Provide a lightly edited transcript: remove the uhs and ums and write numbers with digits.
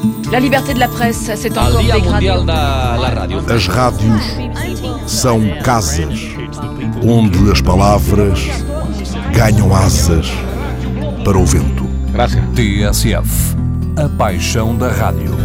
La liberté de la presse s'est encore dégradée. As rádios são casas onde as palavras ganham asas para o vento. TSF, a paixão da rádio.